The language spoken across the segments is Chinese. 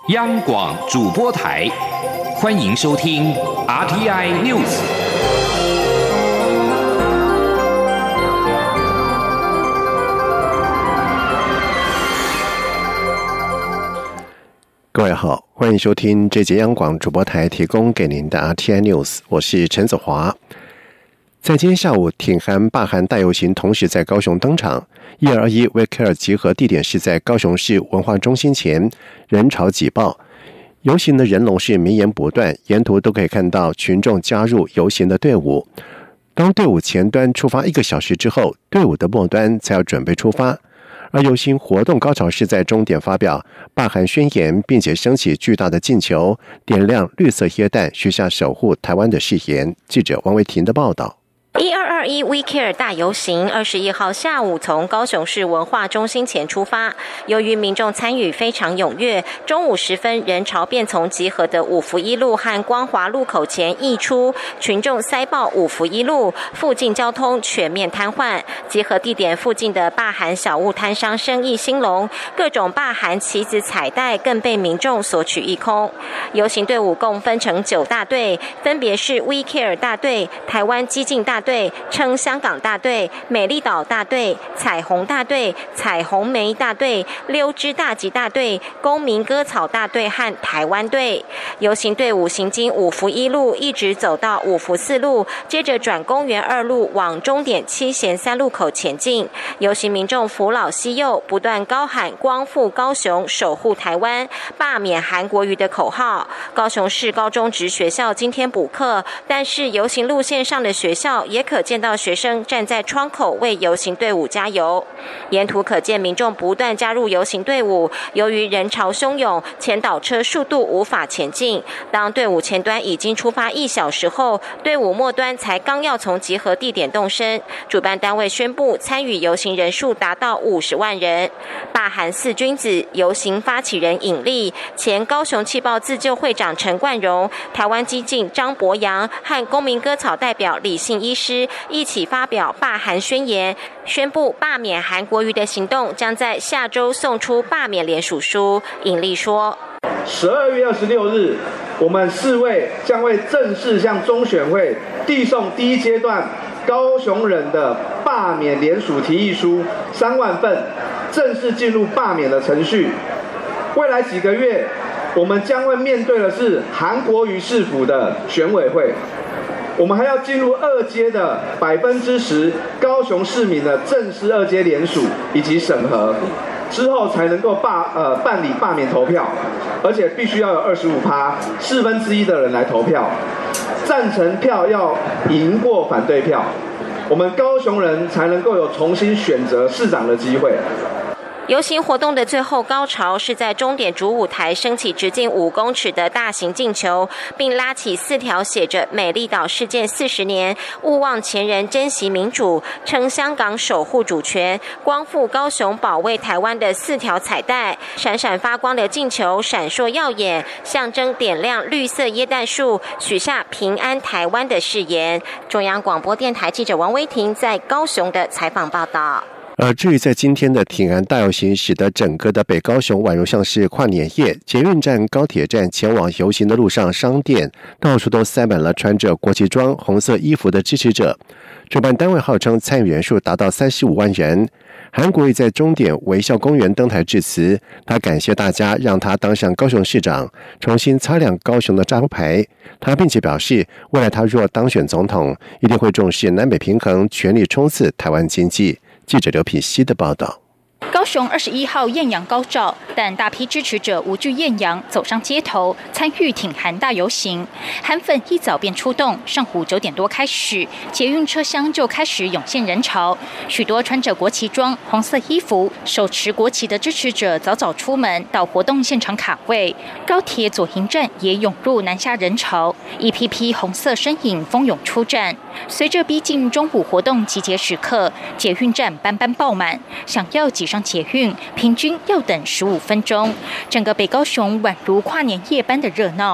央广主播台，欢迎收听 RTI News。 各位好，欢迎收听这节央广主播台提供给您的 RTI News， 我是陈子华。在今天下午，挺韩罢韩大游行同时在高雄登场。1221 We Care 集合地点是在高雄市文化中心前，人潮挤爆。游行的人龙是绵延不断，沿途都可以看到群众加入游行的队伍。当队伍前端出发1个小时之后，队伍的末端才要准备出发。而游行活动高潮是在终点发表罢韩宣言，并且升起巨大的劲球，点亮绿色耶诞，许下守护台湾的誓言。记者王维婷的报道。 1221 We Care 大游行21号下午从高雄市文化中心前出发，由于民众参与非常踊跃，中午时分人潮便从集合的五福一路和光华路口前溢出，群众塞爆五福一路，附近交通全面瘫痪。集合地点附近的罢韩小物摊商生意兴隆，各种罢韩旗子彩带更被民众索取一空。游行队伍共分成9大队，分别是 We Care 大队、台湾激进大队、撑香港大队、美丽岛大队、彩虹大队、彩虹梅大队、溜之大吉大队、公民割草大队和台湾队。游行队伍行经五福一路，一直走到五福4路，接着转公园2路往终点7贤3路口前进。游行民众扶老携幼，不断高喊光复高雄，守护台湾，罢免韩国瑜的口号。高雄市高中职学校今天补课，但是游行路线上的学校也可见到学生站在窗口为游行队伍加油。沿途可见民众不断加入游行队伍，由于人潮汹涌，前导车速度无法前进。当队伍前端已经出发1小时后，队伍末端才刚要从集合地点动身。主办单位宣布，参与游行人数达到50万人。罢韩4君子游行发起人尹力、前高雄气爆自救会长陈冠荣、台湾激进张博洋和公民割草代表李信医师一起发表罢韩宣言，宣布罢免韩国瑜的行动将在下周送出罢免联署书。尹力说 ，12月26日，我们4位将会正式向中选会递送第1阶段高雄人的罢免联署提议书3万份，正式进入罢免的程序。未来几个月，我们将会面对的是韩国瑜市府的选委会，我们还要进入2阶的10%高雄市民的正式2阶联署以及审核，之后才能够办理罢免投票，而且必须要有25%，1/4的人来投票，赞成票要赢过反对票，我们高雄人才能够有重新选择市长的机会。 游行活动的最后高潮是在终点主舞台升起直径5公尺的大型劲球，并拉起4条写着美丽岛事件40年，勿忘前人，珍惜民主，称香港守护主权，光复高雄，保卫台湾的4条彩带。闪闪发光的劲球闪烁耀眼，象征点亮绿色耶诞树，许下平安台湾的誓言。中央广播电台记者王威婷在高雄的采访报道。 至于在今天的挺韩大游行，使得整个的北高雄宛如像是跨年夜，捷运站、高铁站前往游行的路上，商店到处都塞满了穿着国旗装、红色衣服的支持者。主办单位号称参与人数达到35万人。韩国瑜在终点微笑公园登台致辞，他感谢大家让他当上高雄市长，重新擦亮高雄的招牌。他并且表示，未来他若当选总统，一定会重视南北平衡，全力冲刺台湾经济。记者刘品希的报道。 高雄21号艳阳高照，但大批支持者无惧艳阳，走上街头参与挺韩大游行。韩粉一早便出动，上午9点多开始，捷运车厢就开始涌现人潮。许多穿着国旗装、红色衣服、手持国旗的支持者早早出门到活动现场卡位。高铁左营站也涌入南下人潮，一批批红色身影蜂拥出站。随着逼近中午活动集结时刻，捷运站班班爆满，想要挤上捷运，平均要等15分钟。整个北高雄宛如跨年夜般的热闹。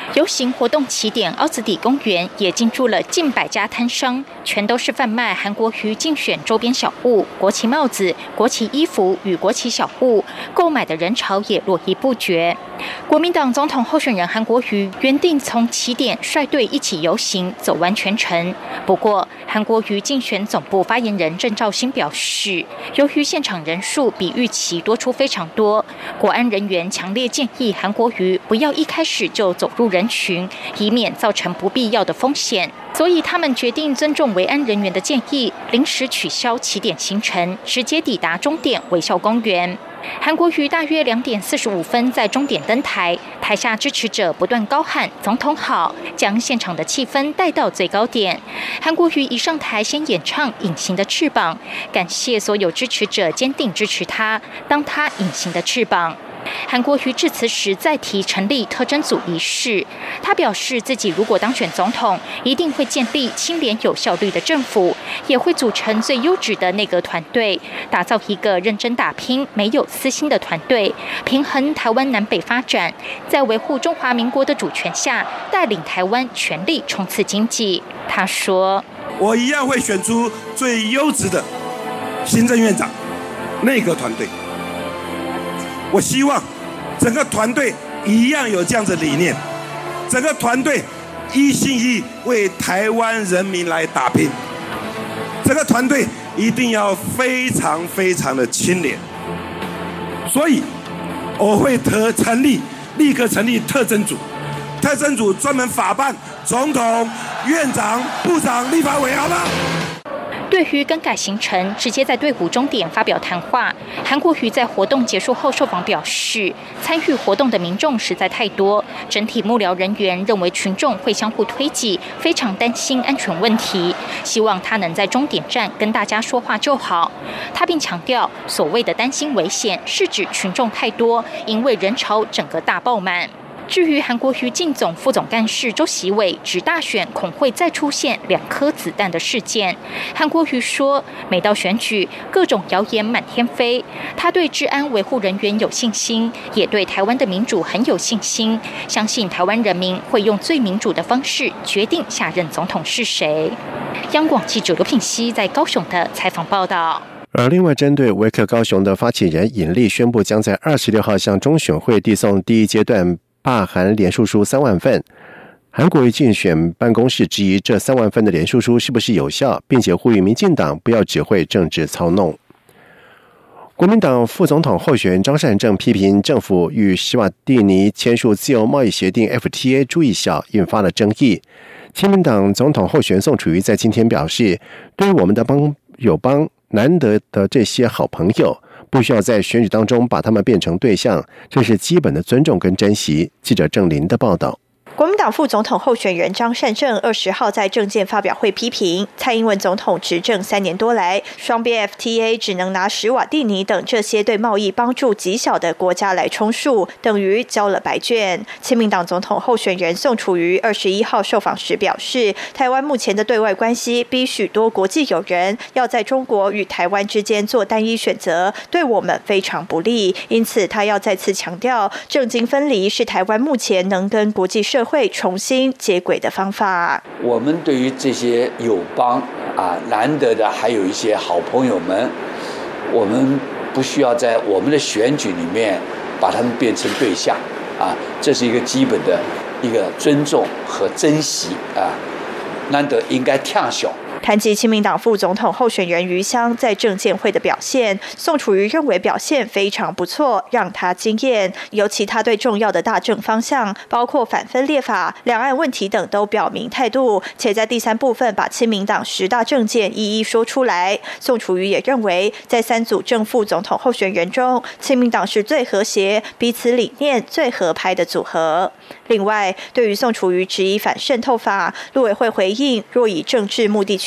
游行活动起点凹子底公园也进驻了近100家摊商，全都是贩卖韩国瑜竞选周边小物、国旗帽子、国旗衣服与国旗小物，购买的人潮也络绎不绝。国民党总统候选人韩国瑜原定从起点率队一起游行走完全程，不过韩国瑜竞选总部发言人郑肇兴表示，由于现场人数比预期多出非常多，国安人员强烈建议韩国瑜不要一开始就走入人群，以免造成不必要的风险。所以他们决定尊重维安人员的建议，临时取消起点行程，直接抵达终点微笑公园。韩国瑜大约2点45分在终点登台，台下支持者不断高喊“总统好”，将现场的气氛带到最高点。韩国瑜一上台先演唱《隐形的翅膀》，感谢所有支持者坚定支持他，当他隐形的翅膀。韩国瑜致辞时再提成立特侦组一事，他表示自己如果当选总统，一定会建立清廉有效率的政府，也会组成最优质的内阁团队，打造一个认真打拼、没有私心的团队，平衡台湾南北发展，在维护中华民国的主权下，带领台湾全力冲刺经济。他说：“ 我一样会选出最优质的行政院长、内阁团队。我希望整个团队一样有这样的理念，整个团队一心一意为台湾人民来打拼，整个团队一定要非常非常的清廉。所以我会立刻成立特侦组，特侦组专门法办总统、院长、部长、立法委，好吗？” 对于更改行程，直接在队伍终点发表谈话，韩国瑜在活动结束后受访表示，参与活动的民众实在太多，整体幕僚人员认为群众会相互推挤，非常担心安全问题，希望他能在终点站跟大家说话就好。他并强调，所谓的担心危险，是指群众太多，因为人潮整个大爆满。至于韩国瑜竞总副总干事周习伟指大选恐会再出现2颗子弹的事件，韩国瑜说，每到选举，各种谣言满天飞，他对治安维护人员有信心，也对台湾的民主很有信心，相信台湾人民会用最民主的方式决定下任总统是谁。央广记者刘品熙在高雄的采访报道。 而另外，针对维克高雄的发起人尹力宣布将在26号向中选会递送第一阶段罢韩联署书3万份，韩国瑜竞选办公室质疑这3万份的联署书是不是有效，并且呼吁民进党不要只会政治操弄。国民党副总统候选人张善政批评政府与史瓦蒂尼签署自由贸易协定 FTA 注意小，引发了争议。亲民党总统候选人宋楚瑜在今天表示，对于我们的友邦难得的这些好朋友，不需要在选举当中把他们变成对象，这是基本的尊重跟珍惜。记者郑林的报道。 国民党副总统候选人张善政20号在政见发表会批评，蔡英文总统执政3年多来，双边 FTA 只能拿史瓦蒂尼等这些对贸易帮助极小的国家来充数，等于交了白卷。亲民党总统候选人宋楚瑜21号受访时表示，台湾目前的对外关系逼许多国际友人要在中国与台湾之间做单一选择，对我们非常不利，因此他要再次强调，政经分离是台湾目前能跟国际社会重新接轨的方法。 我们对于这些友邦难得的还有一些好朋友们，我们不需要在我们的选举里面把他们变成对象这是一个基本的一个尊重和珍惜难得应该跳小。 谈及亲民党副总统候选人余湘在政见会的表现，宋楚瑜认为表现非常不错，让他惊艳。尤其他对重要的大政方向，包括反分裂法、两岸问题等都表明态度，且在第3部分把亲民党10大政见一一说出来。宋楚瑜也认为，在3组正副总统候选人中，亲民党是最和谐、彼此理念最合拍的组合。另外，对于宋楚瑜质疑反渗透法，陆委会回应，若以政治目的驱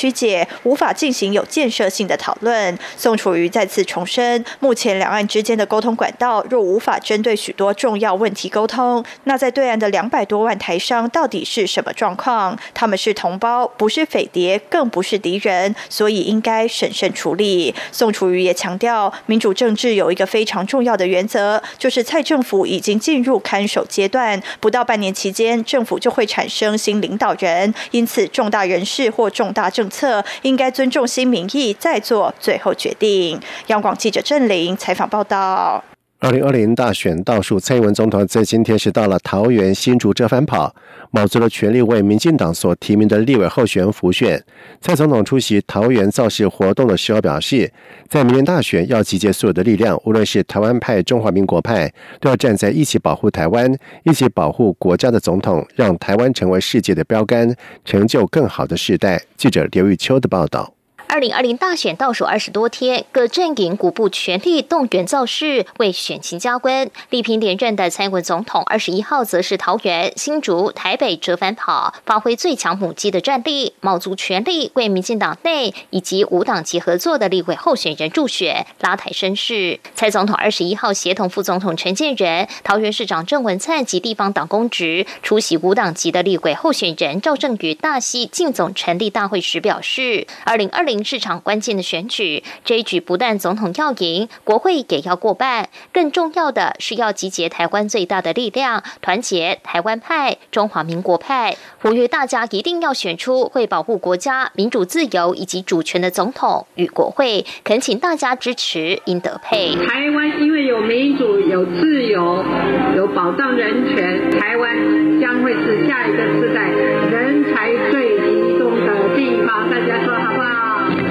曲解，无法进行有建设性的讨论。宋楚瑜再次重申，目前两岸之间的沟通管道若无法针对许多重要问题沟通，那在对岸的200多万台商到底是什么状况？他们是同胞，不是匪谍，更不是敌人，所以应该审慎处理。宋楚瑜也强调，民主政治有一个非常重要的原则，就是蔡政府已经进入看守阶段，不到半年期间，政府就会产生新领导人，因此重大人事或重大政策应该尊重新民意，再做最后决定。央广记者郑玲采访报道。 2020大选倒数，蔡英文总统在今天是到了桃园新竹折返跑，卯足了全力为民进党所提名的立委候选人辅选。蔡总统出席桃园造势活动的时候表示，在明年大选要集结所有的力量，无论是台湾派、中华民国派，都要站在一起保护台湾、一起保护国家的总统，让台湾成为世界的标杆，成就更好的世代。记者刘玉秋的报道。 2020大选倒数20多天，各阵营鼓布全力动员造势，为选情加温。力拼连任的蔡英文总统21号则是桃园、新竹、台北折返跑，发挥最强母鸡的战力，卯足全力为民进党内以及无党籍合作的立委候选人助选，拉抬声势。蔡总统21号协同副总统陈建仁、桃园市长郑文灿及地方党公职出席无党籍的立委候选人赵正宇大溪进总成立大会时表示，2020市场关键的选举，这一局不但总统要赢，国会也要过半，更重要的是要集结台湾最大的力量，团结台湾派、中华民国派，呼吁大家一定要选出会保护国家民主自由以及主权的总统与国会，恳请大家支持应得配。 台湾因为有民主、有自由、有保障人权，台湾将会是下一个时代人才最集中的地方，大家说好不好？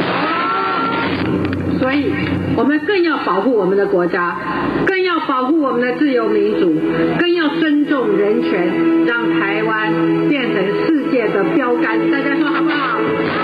所以我们更要保护我们的国家，更要保护我们的自由民主，更要尊重人权，让台湾变成世界的标杆，大家说好不好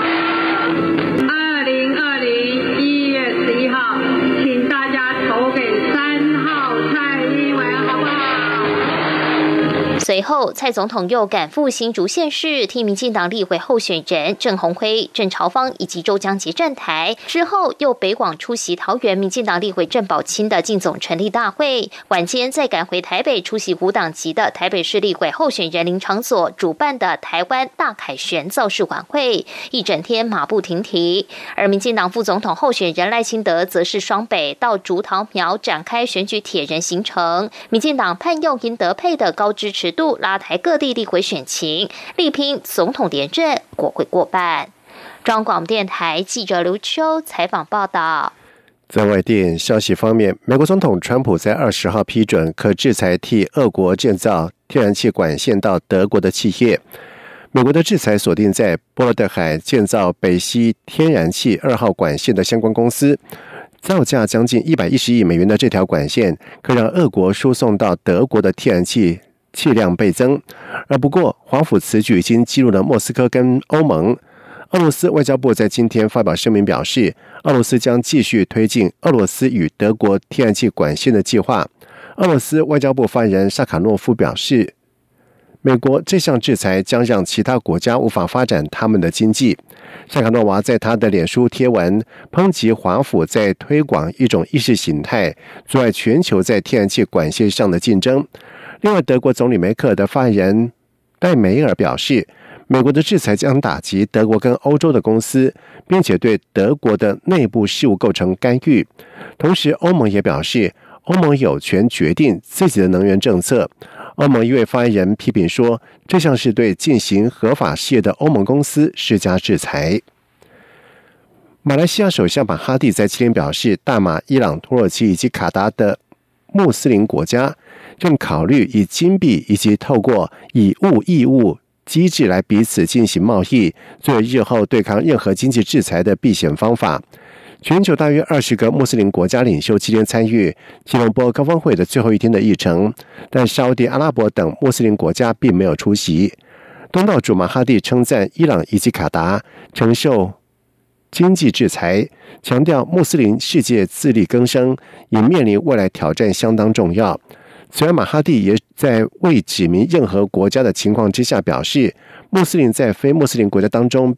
？2020 1月11号，请大家投给3号蔡英文，好不好？ 随后，蔡总统又赶赴新竹县市，替民进党立委候选人郑鸿辉、郑朝芳以及周江杰站台。之后又北往出席桃园民进党立委郑宝清的进总成立大会。晚间再赶回台北出席无党籍的台北市立委候选人林长佐主办的台湾大凯旋造势晚会，一整天马不停蹄。而民进党副总统候选人赖清德则是双北到竹桃苗展开选举铁人行程。民进党盼用赢得配的高支持度拉抬各地立委选情，力拼总统连任，国会过半。中央广播电台记者刘秋采访报道。 在外电消息方面，美国总统川普在20号批准可制裁替俄国建造天然气管线到德国的企业。美国的制裁锁定在波罗的海建造北溪天然气2号管线的相关公司。造价将近110亿美元的这条管线，可让俄国输送到德国的天然气量倍增。而不过，华府此举已经激怒了莫斯科跟欧盟。俄罗斯外交部在今天发表声明表示，俄罗斯将继续推进俄罗斯与德国天然气管线的计划。俄罗斯外交部发言人沙卡诺夫表示，美国这项制裁将让其他国家无法发展他们的经济。沙卡诺娃在他的脸书贴文抨击华府在推广一种意识形态，阻碍全球在天然气管线上的竞争。另外，德国总理梅克尔的发言人戴梅尔表示，美国的制裁将打击德国跟欧洲的公司，并且对德国的内部事务构成干预。同时，欧盟也表示，欧盟有权决定自己的能源政策。欧盟一位发言人批评说，这项是对进行合法事业的欧盟公司施加制裁。马来西亚首相马哈蒂在今天表示，大马、伊朗、土耳其以及卡达的穆斯林国家正考虑以金币以及透过以物易物机制来彼此进行贸易，作为日后对抗任何经济制裁的避险方法。全球大约20个穆斯林国家领袖今天参与吉隆坡高峰会的最后一天的议程，但沙烏地阿拉伯等穆斯林国家并没有出席。东道主马哈蒂称赞伊朗以及卡达承受经济制裁，强调穆斯林世界自力更生，也面临未来挑战相当重要。此外，马哈蒂也在未指明任何国家的情况之下表示，穆斯林在非穆斯林国家当中被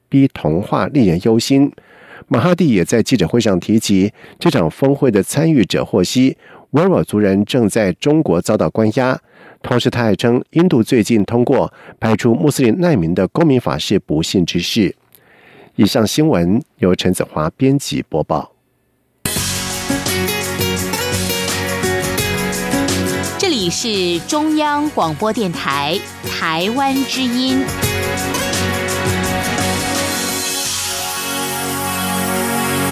逼同化令人忧心。马哈蒂也在记者会上提及，这场峰会的参与者获悉，维吾尔族人正在中国遭到关押。同时，他还称，印度最近通过排除穆斯林难民的公民法是不幸之事。以上新闻由陈子华编辑播报。 这里是中央广播电台台湾之音。